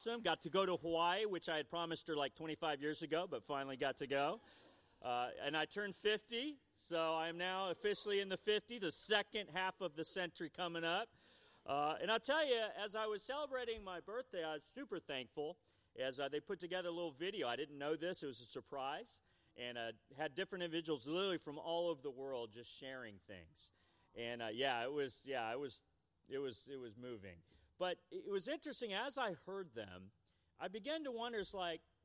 Got to go to Hawaii, which I had promised her like 25 years ago, but finally got to go. And I turned 50, so I am now officially in the 50, the second half of the century coming up. And I'll tell you, as I was celebrating my birthday, I was super thankful as they put together a little video. I didn't know this. It was a surprise. And had different individuals literally from all over the world just sharing things. And it was moving. But it was interesting, as I heard them, I began to wonder, is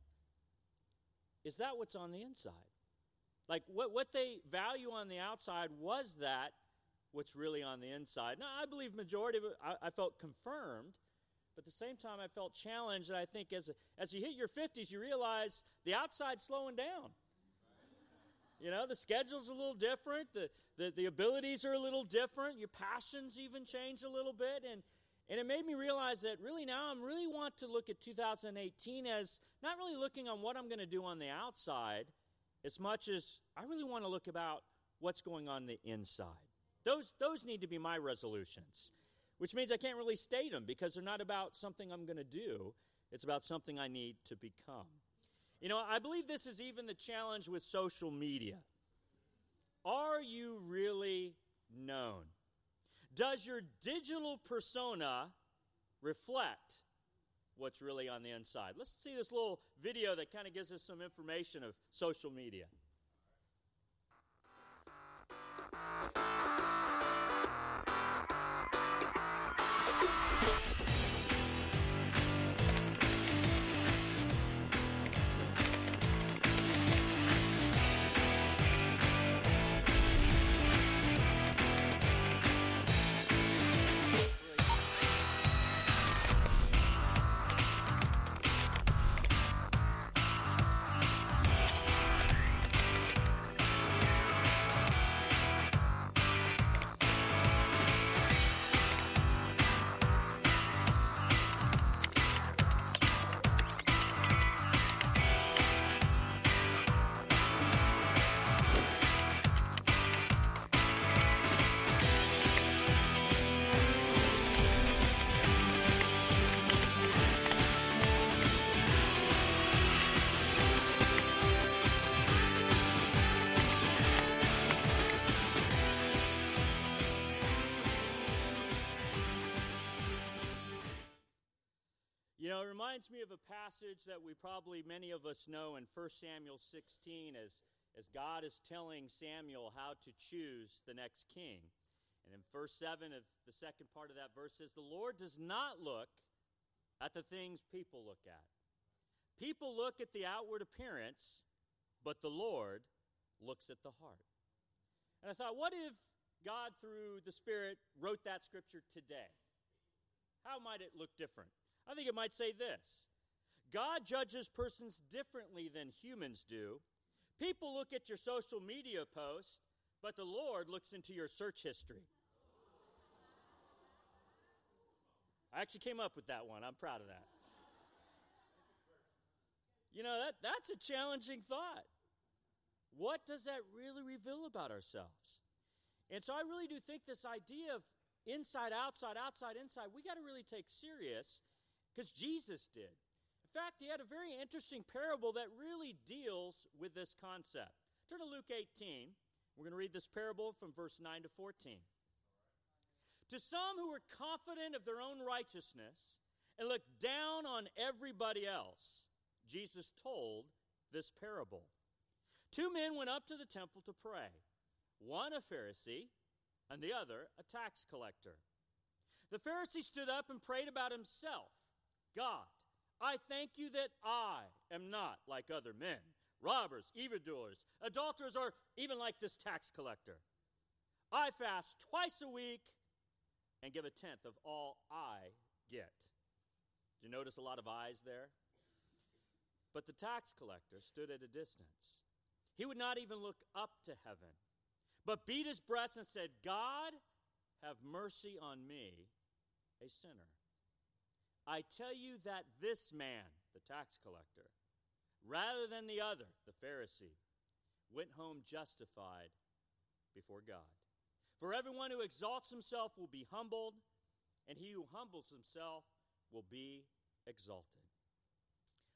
that what's on the inside? Like, what they value on the outside, was that what's really on the inside? Now, I believe majority of it, I felt confirmed, but at the same time, I felt challenged, and I think as you hit your 50s, you realize the outside's slowing down. You know, the schedule's a little different, the abilities are a little different, your passions even change a little bit, and it made me realize that really now I really want to look at 2018 as not really looking on what I'm going to do on the outside as much as I really want to look about what's going on the inside. Those need to be my resolutions, which means I can't really state them because they're not about something I'm going to do. It's about something I need to become. You know, I believe this is even the challenge with social media. Are you really known? Does your digital persona reflect what's really on the inside? Let's see this little video that kind of gives us some information of social media. You know, it reminds me of a passage that many of us know in 1 Samuel 16 as God is telling Samuel how to choose the next king. And in verse 7 of the second part of that verse says, "The Lord does not look at the things people look at. People look at the outward appearance, but the Lord looks at the heart." And I thought, what if God, through the Spirit, wrote that scripture today? How might it look different? I think it might say this: God judges persons differently than humans do. People look at your social media post, but the Lord looks into your search history. I actually came up with that one. I'm proud of that. You know, that's a challenging thought. What does that really reveal about ourselves? And so I really do think this idea of inside, outside, outside, inside, we got to really take serious, because Jesus did. In fact, he had a very interesting parable that really deals with this concept. Turn to Luke 18. We're going to read this parable from verse 9 to 14. To some who were confident of their own righteousness and looked down on everybody else, Jesus told this parable. 2 men went up to the temple to pray, one a Pharisee and the other a tax collector. The Pharisee stood up and prayed about himself. God, I thank you that I am not like other men, robbers, evildoers, adulterers, or even like this tax collector. I fast twice a week and give a tenth of all I get. Did you notice a lot of eyes there? But the tax collector stood at a distance. He would not even look up to heaven, but beat his breast and said, God, have mercy on me, a sinner. I tell you that this man, the tax collector, rather than the other, the Pharisee, went home justified before God. For everyone who exalts himself will be humbled, and he who humbles himself will be exalted.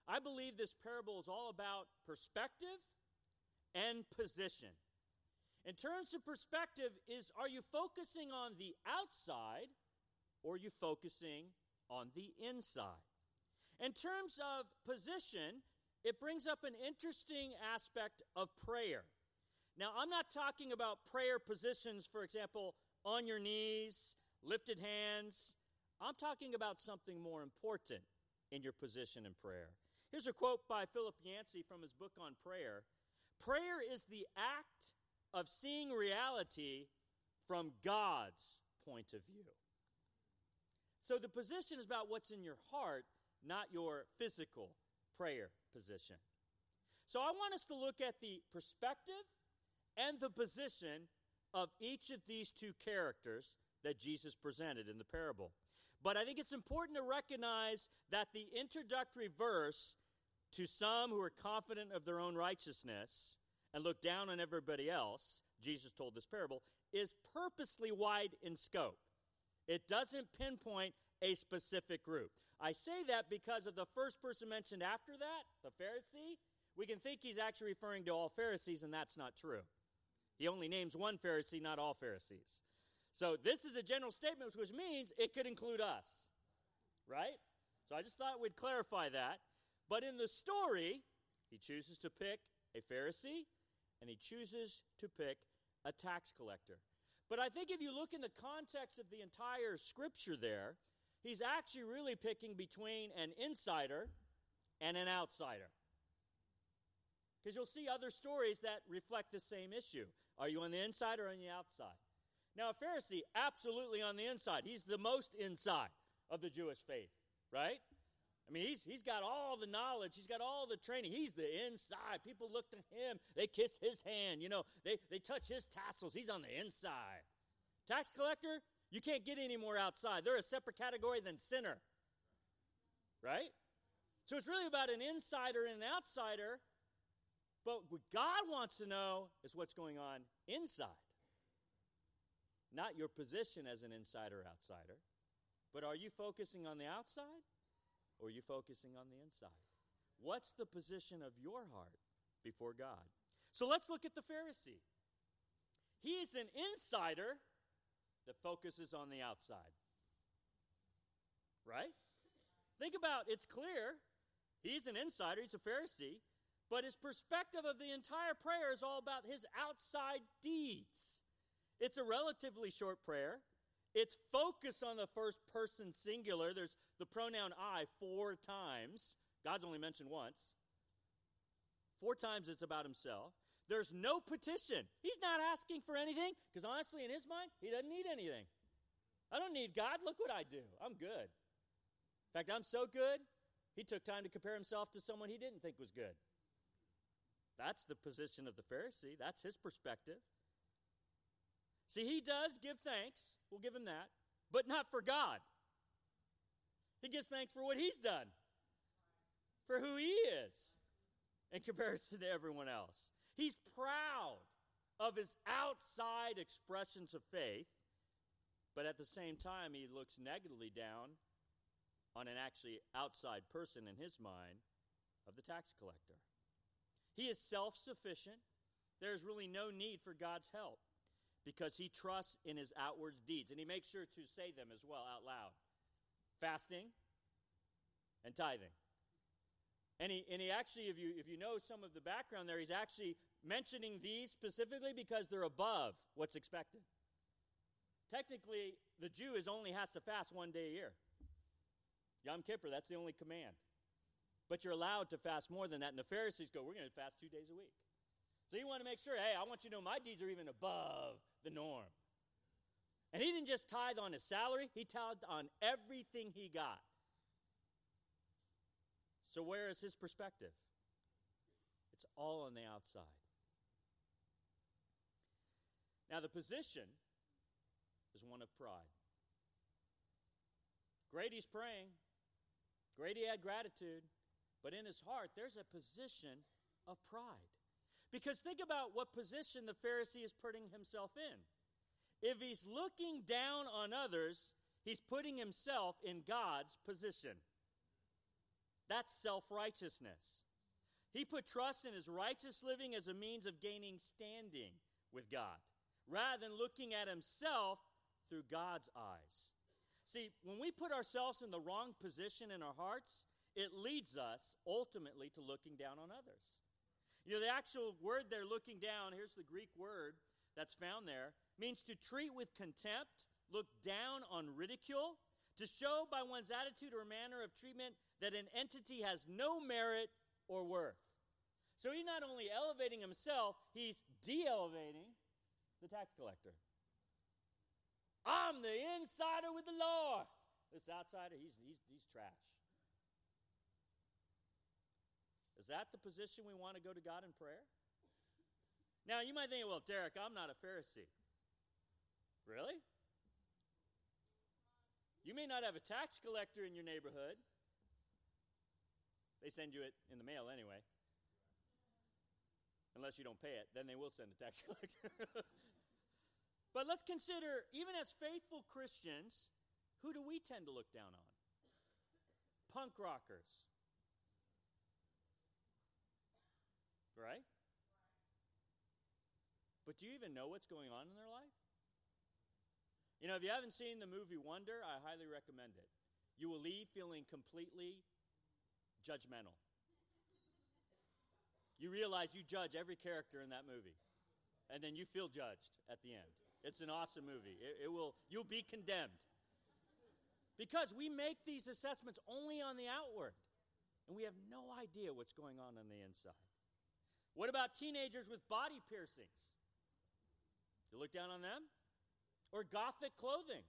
I believe this parable is all about perspective and position. In terms of perspective, are you focusing on the outside or are you focusing on the inside? In terms of position, it brings up an interesting aspect of prayer. Now, I'm not talking about prayer positions, for example, on your knees, lifted hands. I'm talking about something more important in your position in prayer. Here's a quote by Philip Yancey from his book on prayer. Prayer is the act of seeing reality from God's point of view. So the position is about what's in your heart, not your physical prayer position. So I want us to look at the perspective and the position of each of these two characters that Jesus presented in the parable. But I think it's important to recognize that the introductory verse, to some who are confident of their own righteousness and look down on everybody else, Jesus told this parable, is purposely wide in scope. It doesn't pinpoint a specific group. I say that because of the first person mentioned after that, the Pharisee. We can think he's actually referring to all Pharisees, and that's not true. He only names one Pharisee, not all Pharisees. So this is a general statement, which means it could include us, right? So I just thought we'd clarify that. But in the story, he chooses to pick a Pharisee, and he chooses to pick a tax collector. But I think if you look in the context of the entire scripture there, he's actually really picking between an insider and an outsider. Because you'll see other stories that reflect the same issue. Are you on the inside or on the outside? Now, a Pharisee, absolutely on the inside. He's the most inside of the Jewish faith, right? I mean, he's got all the knowledge. He's got all the training. He's the inside. People look to him. They kiss his hand. They touch his tassels. He's on the inside. Tax collector, you can't get any more outside. They're a separate category than sinner, right? So it's really about an insider and an outsider. But what God wants to know is what's going on inside. Not your position as an insider or outsider, but are you focusing on the outside or are you focusing on the inside? What's the position of your heart before God? So let's look at the Pharisee. He's an insider that focuses on the outside. Right? Think about it's clear. He's an insider, he's a Pharisee, but his perspective of the entire prayer is all about his outside deeds. It's a relatively short prayer. It's focused on the first person singular. There's the pronoun I 4 times. God's only mentioned once. 4 times it's about himself. There's no petition. He's not asking for anything because honestly, in his mind, he doesn't need anything. I don't need God. Look what I do. I'm good. In fact, I'm so good, he took time to compare himself to someone he didn't think was good. That's the position of the Pharisee. That's his perspective. See, he does give thanks. We'll give him that. But not for God. He gives thanks for what he's done. For who he is in comparison to everyone else. He's proud of his outside expressions of faith. But at the same time, he looks negatively down on an actually outside person in his mind of the tax collector. He is self-sufficient. There's really no need for God's help because he trusts in his outward deeds. And he makes sure to say them as well out loud. Fasting and tithing. And he actually, if you know some of the background there, he's actually mentioning these specifically because they're above what's expected. Technically, the Jew only has to fast 1 day a year. Yom Kippur, that's the only command. But you're allowed to fast more than that. And the Pharisees go, we're going to fast 2 days a week. So you want to make sure, hey, I want you to know my deeds are even above the norm. And he didn't just tithe on his salary. He tithed on everything he got. So where is his perspective? It's all on the outside. Now the position is one of pride. Great he's praying. Great he had gratitude. But in his heart, there's a position of pride. Because think about what position the Pharisee is putting himself in. If he's looking down on others, he's putting himself in God's position. That's self-righteousness. He put trust in his righteous living as a means of gaining standing with God, rather than looking at himself through God's eyes. See, when we put ourselves in the wrong position in our hearts, it leads us ultimately to looking down on others. You know, the actual word there, looking down, here's the Greek word that's found there, means to treat with contempt, look down on ridicule, to show by one's attitude or manner of treatment that an entity has no merit or worth. So he's not only elevating himself, he's de-elevating the tax collector. I'm the insider with the Lord. This outsider, he's trash. Is that the position we want to go to God in prayer? Now, you might think, well, Derek, I'm not a Pharisee. Really? You may not have a tax collector in your neighborhood. They send you it in the mail anyway. Unless you don't pay it, then they will send a tax collector. But let's consider, even as faithful Christians, who do we tend to look down on? Punk rockers. Right? But do you even know what's going on in their life? You know, if you haven't seen the movie Wonder, I highly recommend it. You will leave feeling completely judgmental. You realize you judge every character in that movie, and then you feel judged at the end. It's an awesome movie. You'll be condemned. Because we make these assessments only on the outward, and we have no idea what's going on the inside. What about teenagers with body piercings? You look down on them? Or gothic clothing?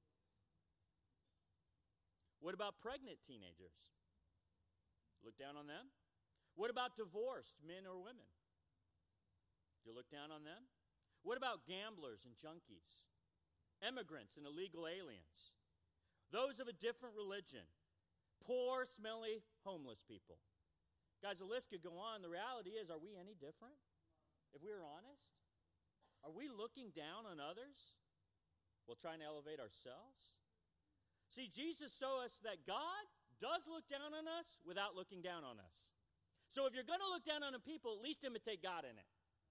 What about pregnant teenagers? Look down on them? What about divorced men or women? Do you look down on them? What about gamblers and junkies? Immigrants and illegal aliens? Those of a different religion? Poor, smelly, homeless people? Guys, the list could go on. The reality is, are we any different? If we were honest? Are we looking down on others while trying to elevate ourselves? See, Jesus showed us that God does look down on us without looking down on us. So if you're going to look down on people, at least imitate God in it.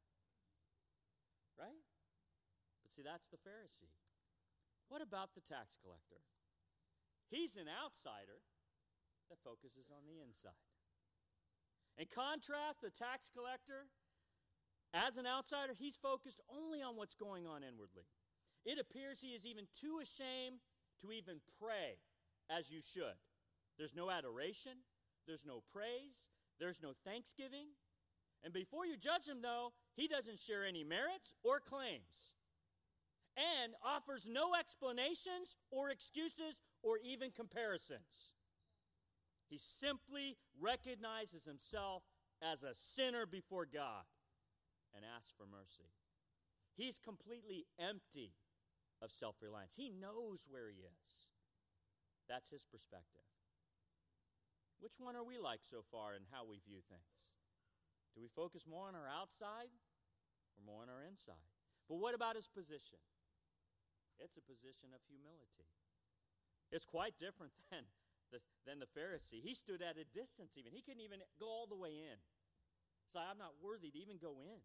Right? But see, that's the Pharisee. What about the tax collector? He's an outsider that focuses on the inside. In contrast, the tax collector, as an outsider, he's focused only on what's going on inwardly. It appears he is even too ashamed to even pray as you should. There's no adoration. There's no praise. There's no thanksgiving. And before you judge him, though, he doesn't share any merits or claims and offers no explanations or excuses or even comparisons. He simply recognizes himself as a sinner before God and asks for mercy. He's completely empty of self-reliance. He knows where he is. That's his perspective. Which one are we like so far in how we view things? Do we focus more on our outside or more on our inside? But what about his position? It's a position of humility. It's quite different than the Pharisee. He stood at a distance even. He couldn't even go all the way in. So I'm not worthy to even go in.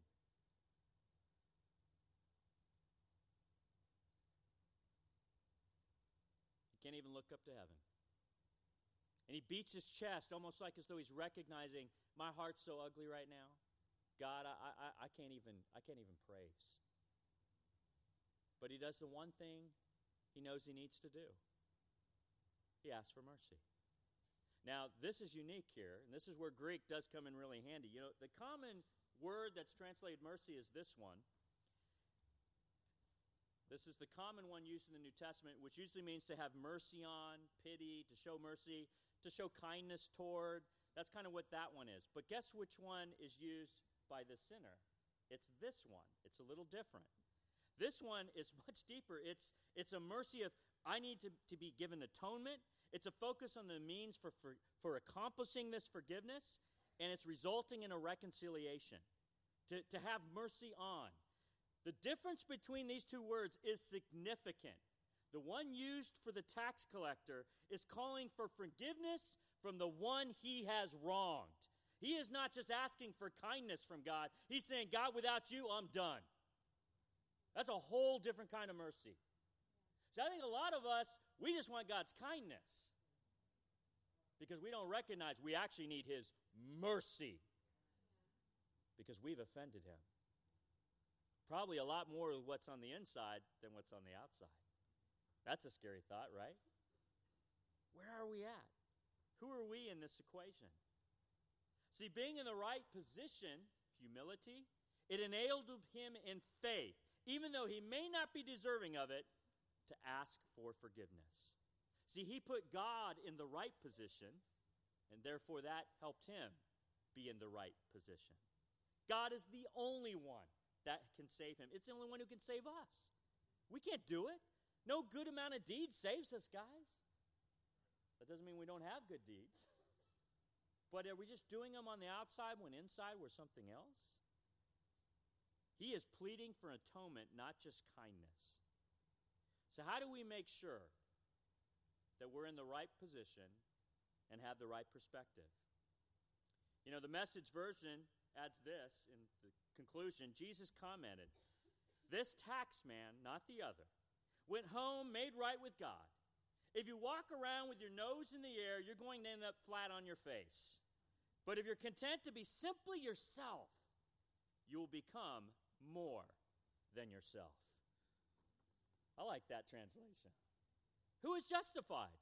He can't even look up to heaven. And he beats his chest almost like as though he's recognizing, my heart's so ugly right now. God, I can't even praise. But he does the one thing he knows he needs to do. He asks for mercy. Now, this is unique here, and this is where Greek does come in really handy. You know, the common word that's translated mercy is this one. This is the common one used in the New Testament, which usually means to have mercy on, pity, to show mercy, to show kindness toward. That's kind of what that one is. But guess which one is used by the sinner? It's this one. It's a little different. This one is much deeper. It's a mercy of, I need to be given atonement. It's a focus on the means for accomplishing this forgiveness, and it's resulting in a reconciliation. To have mercy on. The difference between these two words is significant. The one used for the tax collector is calling for forgiveness from the one he has wronged. He is not just asking for kindness from God. He's saying, God, without you, I'm done. That's a whole different kind of mercy. So I think a lot of us, we just want God's kindness because we don't recognize we actually need his mercy because we've offended him. Probably a lot more of what's on the inside than what's on the outside. That's a scary thought, right? Where are we at? Who are we in this equation? See, being in the right position, humility, it enabled him in faith, even though he may not be deserving of it, to ask for forgiveness. See, he put God in the right position, and therefore that helped him be in the right position. God is the only one that can save him. It's the only one who can save us. We can't do it. No good amount of deeds saves us, guys. That doesn't mean we don't have good deeds. But are we just doing them on the outside when inside we're something else? He is pleading for atonement, not just kindness. So how do we make sure that we're in the right position and have the right perspective? You know, the Message version adds this in the conclusion. Jesus commented, "This tax man, not the other, went home made right with God. If you walk around with your nose in the air, you're going to end up flat on your face. But if you're content to be simply yourself, you will become more than yourself." I like that translation. Who is justified?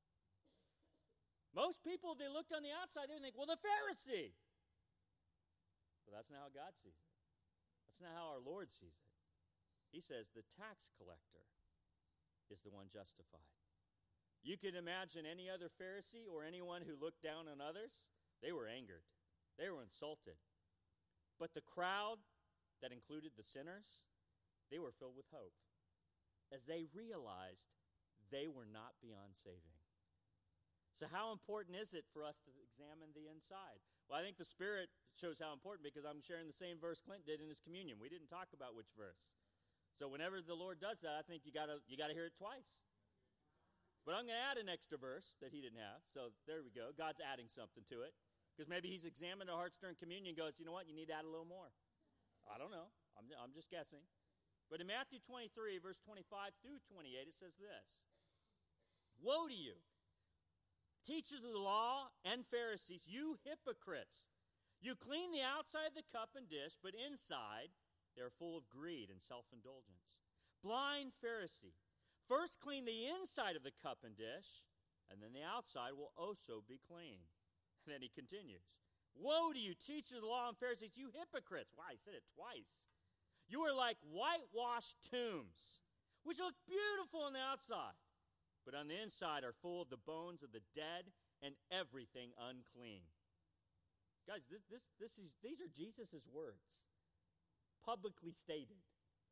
Most people, if they looked on the outside, they would think, well, the Pharisee. But that's not how God sees it. That's not how our Lord sees it. He says the tax collector is the one justified. You could imagine any other Pharisee or anyone who looked down on others, they were angered. They were insulted. But the crowd that included the sinners, they were filled with hope as they realized they were not beyond saving. So how important is it for us to examine the inside? Well, I think the Spirit shows how important because I'm sharing the same verse Clint did in his communion. We didn't talk about which verse. So whenever the Lord does that, I think you gotta hear it twice. But I'm going to add an extra verse that he didn't have. So there we go. God's adding something to it. Because maybe he's examined our hearts during communion and goes, you know what, you need to add a little more. I don't know. I'm just guessing. But in Matthew 23, verse 25 through 28, it says this. "Woe to you, teachers of the law and Pharisees, you hypocrites! You clean the outside of the cup and dish, but inside they are full of greed and self-indulgence. Blind Pharisee! First clean the inside of the cup and dish, and then the outside will also be clean." And then he continues. "Woe to you, teachers of the law and Pharisees, you hypocrites!" Wow, he said it twice. "You are like whitewashed tombs, which look beautiful on the outside, but on the inside are full of the bones of the dead and everything unclean." Guys, these are Jesus' words, publicly stated.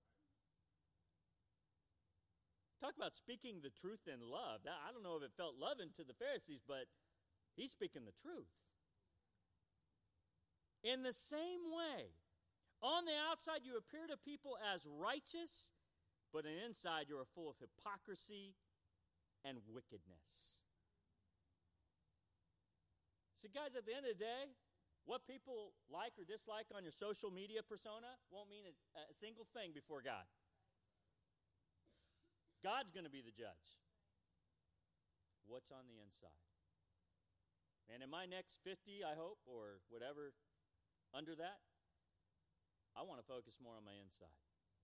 Talk about speaking the truth in love. I don't know if it felt loving to the Pharisees, but he's speaking the truth. "In the same way, on the outside you appear to people as righteous, but on the inside you are full of hypocrisy and wickedness." See, guys, at the end of the day, what people like or dislike on your social media persona won't mean a single thing before God. God's going to be the judge. What's on the inside? And in my next 50, I hope, or whatever under that, I want to focus more on my inside,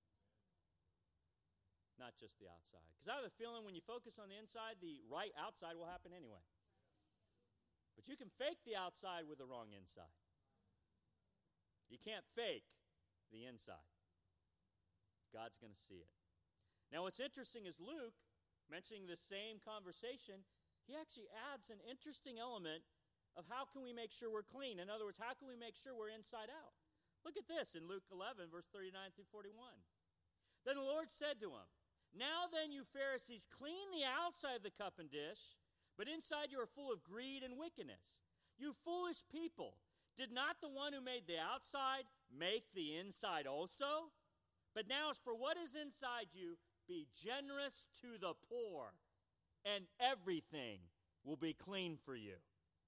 not just the outside. Because I have a feeling when you focus on the inside, the right outside will happen anyway. But you can fake the outside with the wrong inside. You can't fake the inside. God's going to see it. Now, what's interesting is Luke, mentioning the same conversation, he actually adds an interesting element of how can we make sure we're clean. In other words, how can we make sure we're inside out? Look at this in Luke 11, verse 39 through 41. "Then the Lord said to him, 'Now then, you Pharisees, clean the outside of the cup and dish, but inside you are full of greed and wickedness. You foolish people, did not the one who made the outside make the inside also? But now as for what is inside you, be generous to the poor, and everything will be clean for you.'"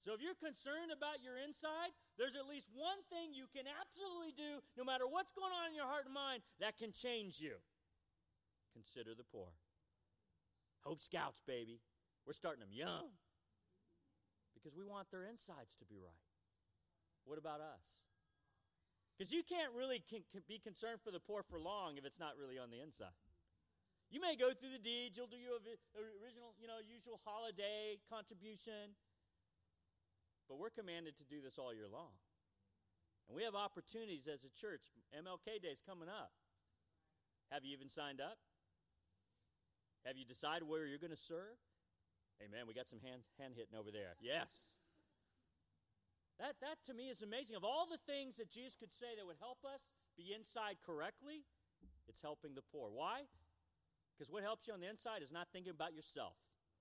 So if you're concerned about your inside, there's at least one thing you can absolutely do, no matter what's going on in your heart and mind, that can change you. Consider the poor. Hope Scouts, baby. We're starting them young because we want their insides to be right. What about us? Because you can't really be concerned for the poor for long if it's not really on the inside. You may go through the deeds, you'll do your original, usual holiday contribution, but we're commanded to do this all year long. And we have opportunities as a church. MLK Day is coming up. Have you even signed up? Have you decided where you're going to serve? Amen. We got some hand hitting over there. Yes. That to me is amazing. Of all the things that Jesus could say that would help us be inside correctly, it's helping the poor. Why? Because what helps you on the inside is not thinking about yourself.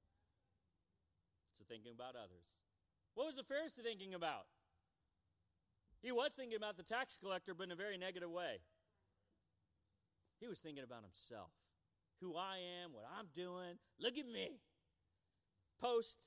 It's thinking about others. What was the Pharisee thinking about? He was thinking about the tax collector, but in a very negative way. He was thinking about himself. Who I am, what I'm doing. Look at me. Post.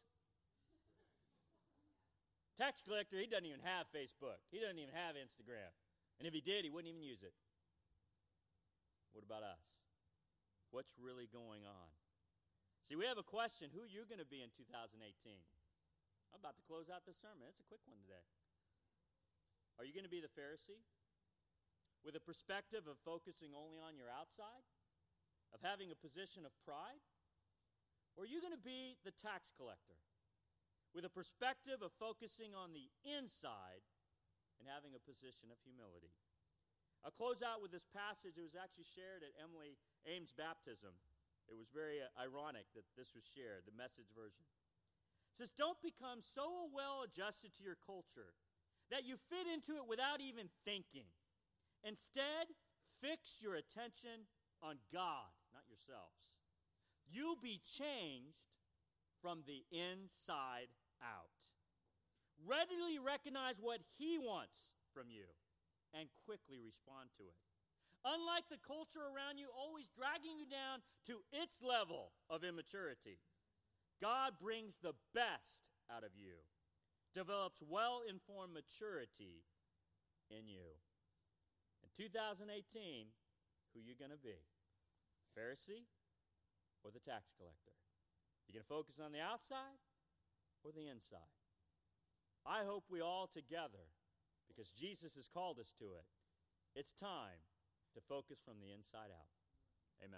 Tax collector, he doesn't even have Facebook. He doesn't even have Instagram. And if he did, he wouldn't even use it. What about us? What's really going on? See, we have a question. Who are you going to be in 2018? I'm about to close out this sermon. It's a quick one today. Are you going to be the Pharisee? With a perspective of focusing only on your outside? Of having a position of pride? Or are you going to be the tax collector? With a perspective of focusing on the inside and having a position of humility. I'll close out with this passage. It was actually shared at Emily Ames' baptism. It was very ironic that this was shared, the Message version. It says, don't become so well adjusted to your culture that you fit into it without even thinking. Instead, fix your attention on God, not yourselves. You'll be changed from the inside out. Readily recognize what He wants from you and quickly respond to it. Unlike the culture around you always dragging you down to its level of immaturity, God brings the best out of you, develops well-informed maturity in you. In 2018, who are you going to be? Pharisee or the tax collector? You going to focus on the outside or the inside? I hope we all together, because Jesus has called us to it, it's time to focus from the inside out. Amen.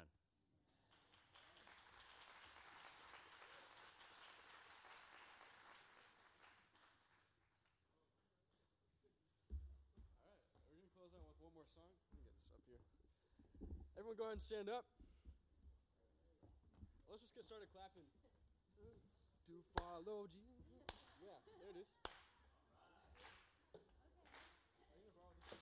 All right, we're going to close out with one more song. Let me get this up here. Everyone go ahead and stand up. Let's just get started clapping. To follow Jesus. Yeah, there it is.